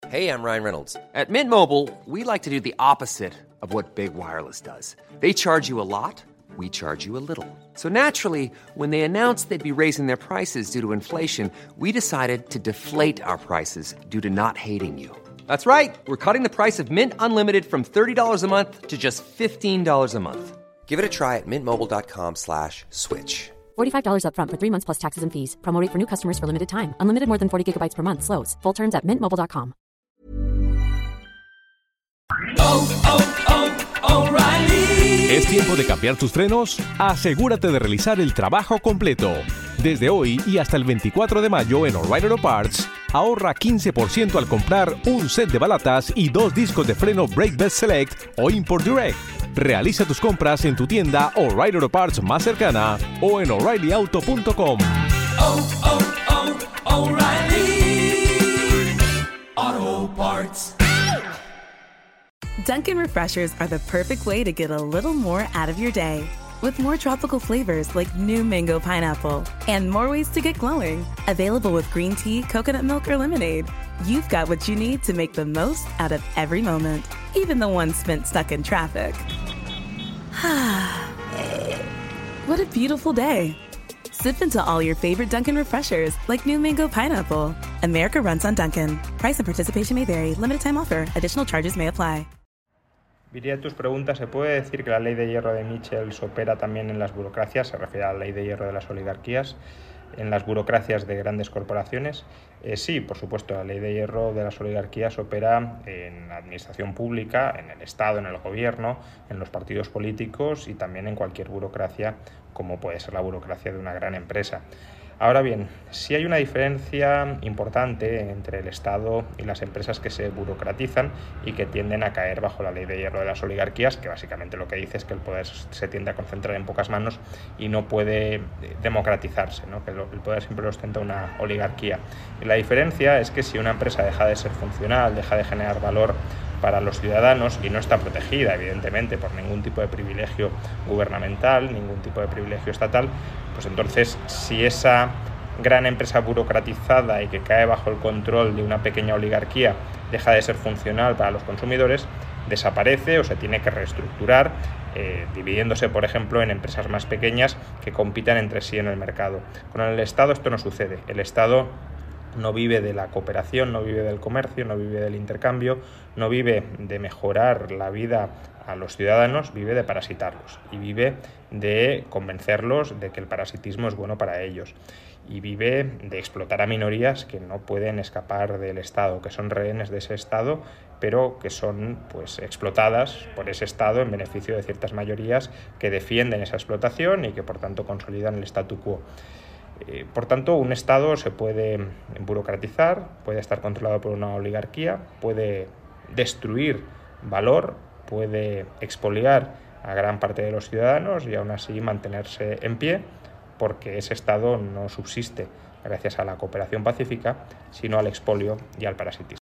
Hey, I'm Ryan Reynolds. At Mint Mobile, we like to do the opposite of what Big Wireless does. They charge you a lot, we charge you a little. So naturally, when they announced they'd be raising their prices due to inflation, we decided to deflate our prices due to not hating you. That's right. We're cutting the price of Mint Unlimited from $30 a month to just $15 a month. Give it a try at mintmobile.com/switch. $45 up front for 3 months plus taxes and fees. Promo rate for new customers for limited time. Unlimited more than 40 gigabytes per month. Slows full terms at mintmobile.com. O'Reilly. ¿Es tiempo de cambiar tus frenos? Asegúrate de realizar el trabajo completo. Desde hoy y hasta el 24 de mayo en O'Reilly Auto Parts, ahorra 15% al comprar un set de balatas y 2 discos de freno Brake Best Select o Import Direct. Realiza tus compras en tu tienda O'Reilly Auto Parts más cercana o en O'ReillyAuto.com. O'Reilly Auto Parts. Dunkin' Refreshers are the perfect way to get a little more out of your day. With more tropical flavors like new mango pineapple and more ways to get glowing. Available with green tea, coconut milk, or lemonade. You've got what you need to make the most out of every moment, even the one spent stuck in traffic. What a beautiful day. Sip into all your favorite Dunkin' Refreshers like new mango pineapple. America runs on Dunkin'. Price and participation may vary. Limited time offer. Additional charges may apply. Diría tus preguntas, ¿se puede decir que la ley de hierro de Michels opera también en las burocracias? Se refiere a la ley de hierro de las oligarquías, en las burocracias de grandes corporaciones. Sí, por supuesto, la ley de hierro de las oligarquías opera en la administración pública, en el Estado, en el gobierno, en los partidos políticos y también en cualquier burocracia, como puede ser la burocracia de una gran empresa. Ahora bien, sí hay una diferencia importante entre el Estado y las empresas que se burocratizan y que tienden a caer bajo la ley de hierro de las oligarquías, que básicamente lo que dice es que el poder se tiende a concentrar en pocas manos y no puede democratizarse, ¿no? Que el poder siempre lo ostenta una oligarquía. Y la diferencia es que si una empresa deja de ser funcional, deja de generar valor para los ciudadanos y no está protegida, evidentemente, por ningún tipo de privilegio gubernamental, ningún tipo de privilegio estatal, pues entonces, si esa gran empresa burocratizada y que cae bajo el control de una pequeña oligarquía deja de ser funcional para los consumidores, desaparece o se tiene que reestructurar, dividiéndose, por ejemplo, en empresas más pequeñas que compitan entre sí en el mercado. Con el Estado esto no sucede. El Estado no vive de la cooperación, no vive del comercio, no vive del intercambio, no vive de mejorar la vida a los ciudadanos, vive de parasitarlos y vive de convencerlos de que el parasitismo es bueno para ellos y vive de explotar a minorías que no pueden escapar del Estado, que son rehenes de ese Estado, pero que son pues explotadas por ese Estado en beneficio de ciertas mayorías que defienden esa explotación y que por tanto consolidan el statu quo. Por tanto, un Estado se puede burocratizar, puede estar controlado por una oligarquía, puede destruir valor, puede expoliar a gran parte de los ciudadanos y aún así mantenerse en pie, porque ese Estado no subsiste gracias a la cooperación pacífica, sino al expolio y al parasitismo.